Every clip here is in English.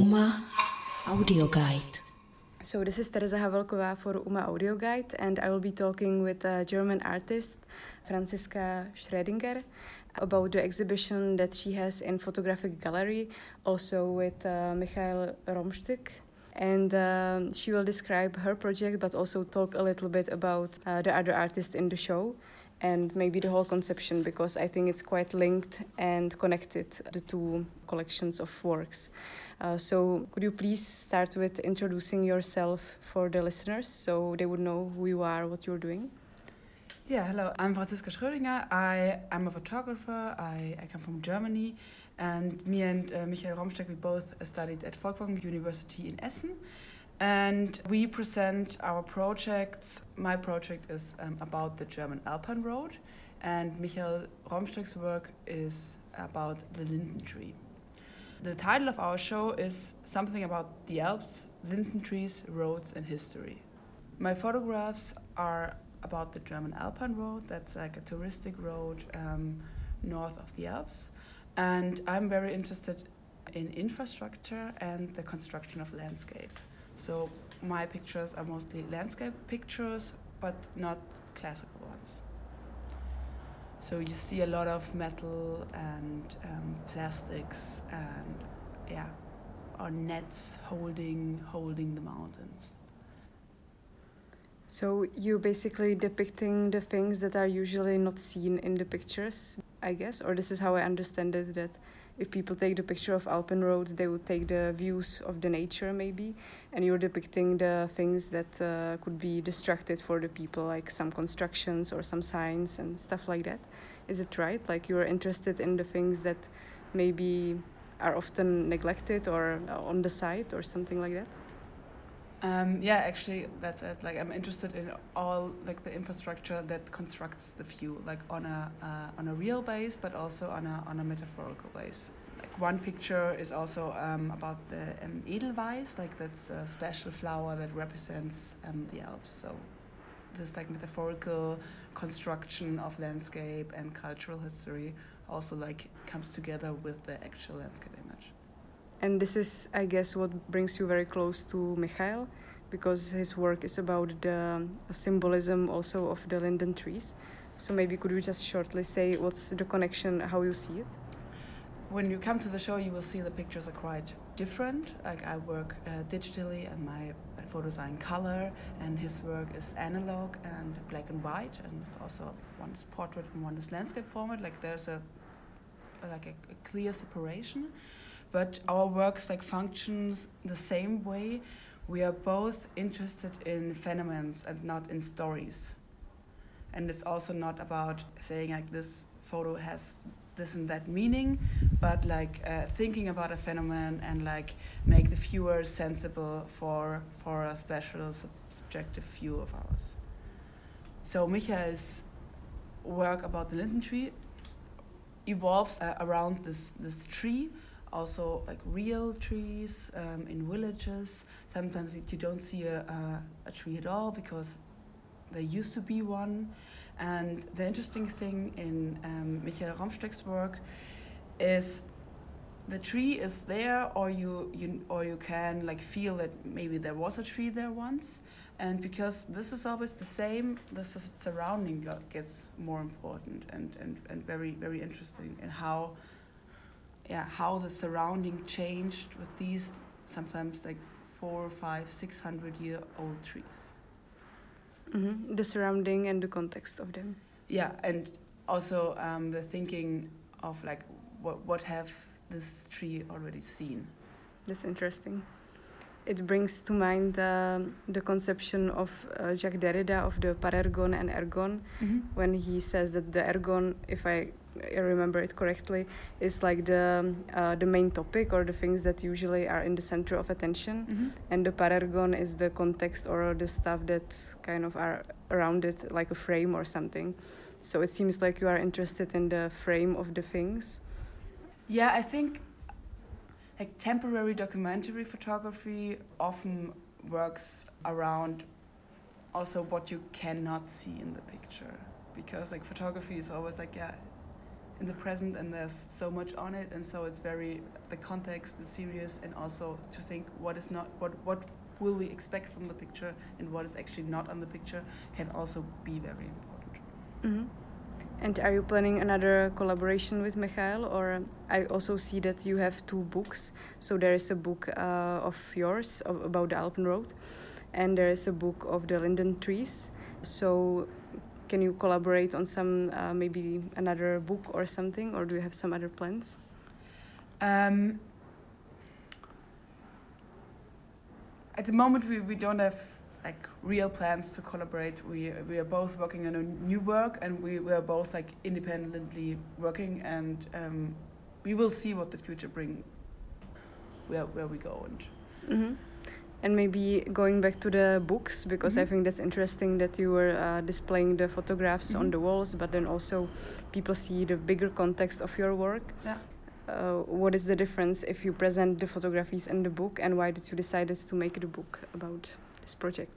UMA Audio Guide. So this is Tereza Havelková for UMA Audio Guide, and I will be talking with a German artist, Franziska Schrödinger, about the exhibition that she has in Photographic Gallery, also with Michael Romstück. And she will describe her project, but also talk a little bit about the other artists in the show and maybe the whole conception, because I think it's quite linked and connected, the two collections of works. So could you please start with introducing yourself for the listeners so they would know who you are, what you're doing? Yeah, hello, I'm Franziska Schrödinger. I'm a photographer. I come from Germany, and me and Michael Romstück, we both studied at Folkwang University in Essen. And we present our projects. My project is about the German Alpine Road, and Michael Romstück's work is about the linden tree. The title of our show is something about the Alps, linden trees, roads, and history. My photographs are about the German Alpine Road. That's like a touristic road north of the Alps. And I'm very interested in infrastructure and the construction of landscape. So my pictures are mostly landscape pictures, but not classical ones. So you see a lot of metal and plastics and or nets holding the mountains. So you're basically depicting the things that are usually not seen in the pictures, I guess, or this is how I understand it, that if people take the picture of Alpine Road, they would take the views of the nature maybe, and you're depicting the things that could be distracted for the people, like some constructions or some signs and stuff like that. Is it right? Like you're interested in the things that maybe are often neglected or on the side or something like that? Actually, that's it. Like I'm interested in all like the infrastructure that constructs the view, like on a real base, but also on a metaphorical base. Like one picture is also about the Edelweiss, like that's a special flower that represents the Alps. So this like metaphorical construction of landscape and cultural history also like comes together with the actual landscape image. And this is, I guess, what brings you very close to Michael, because his work is about the symbolism also of the linden trees. So maybe could you just shortly say what's the connection, how you see it? When you come to the show, you will see the pictures are quite different. Like I work digitally, and my photos are in color, and his work is analog and black and white, and it's also one is portrait and one is landscape format. Like there's a clear separation. But our works like functions the same way. We are both interested in phenomena and not in stories. And it's also not about saying like this photo has this and that meaning, but like thinking about a phenomenon and like make the viewer sensible for a special subjective view of ours. So Michael's work about the linden tree evolves around this tree. Also like real trees in villages. Sometimes you don't see a tree at all because there used to be one. And the interesting thing in Michael Romstück's work is the tree is there, or you can like feel that maybe there was a tree there once. And because this is always the same, the surrounding gets more important and very, very interesting in how the surrounding changed with these sometimes like 400, 500, 600-year-old trees. Mm-hmm. The surrounding and the context of them. Yeah, and also the thinking of like what have this tree already seen. That's interesting. It brings to mind the conception of Jacques Derrida of the parergon and ergon, when he says that the ergon, if I remember it correctly, is like the main topic or the things that usually are in the center of attention, and the parergon is the context or the stuff that kind of are around it, like a frame or something. So it seems like you are interested in the frame of the things. Yeah, I think like temporary documentary photography often works around also what you cannot see in the picture, because like photography is always like in the present, and there's so much on it, and so it's very, the context is serious, and also to think what will we expect from the picture and what is actually not on the picture can also be very important. Mm-hmm. And are you planning another collaboration with Michael? Or I also see that you have 2 books. So there is a book of yours about the Alpenroad, and there is a book of the linden trees. So can you collaborate on some, maybe another book or something, or do you have some other plans? At the moment, we don't have like real plans to collaborate. We are both working on a new work, and we are both like independently working, and we will see what the future brings, where we go. And and maybe going back to the books, because I think that's interesting that you were displaying the photographs on the walls, but then also people see the bigger context of your work. Yeah. What is the difference if you present the photographies in the book, and why did you decide to make the book about this project?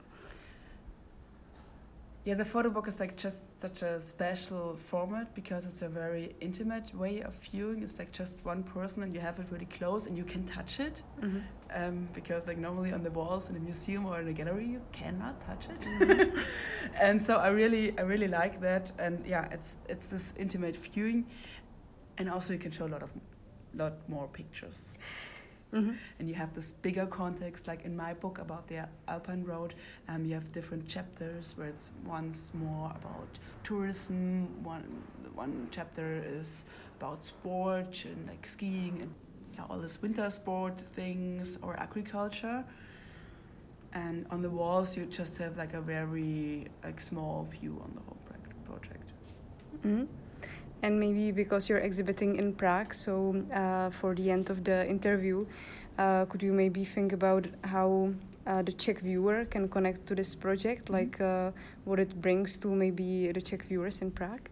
Yeah, the photo book is like just such a special format because it's a very intimate way of viewing. It's like just one person and you have it really close and you can touch it. Because like normally on the walls in a museum or in a gallery you cannot touch it. And so I really like that, and yeah, it's this intimate viewing, and also you can show a lot more pictures. And you have this bigger context, like in my book about the Alpenroad, you have different chapters where it's once more about tourism, one chapter is about sport and like skiing and all this winter sport things, or agriculture. And on the walls you just have like a very like small view on the whole project. And maybe because you're exhibiting in Prague, so for the end of the interview, could you maybe think about how the Czech viewer can connect to this project, like what it brings to maybe the Czech viewers in Prague?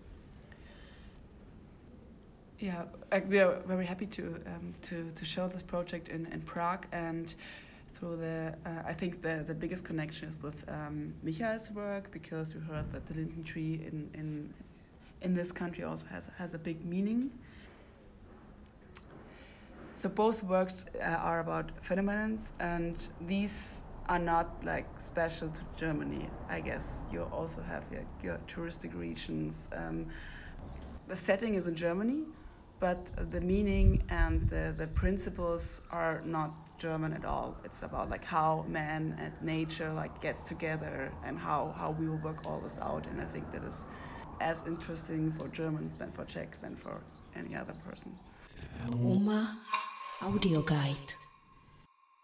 Yeah, we are very happy to show this project in Prague, and through I think the biggest connection is with Michael's work, because we heard that the linden tree in this country also has a big meaning. So both works are about phenomenons, and these are not like special to Germany. I guess you also have your touristic regions. The setting is in Germany, but the meaning and the principles are not German at all. It's about like how man and nature like gets together, and how we will work all this out. And I think that is as interesting for Germans than for Czech than for any other person. UMA Audio Guide.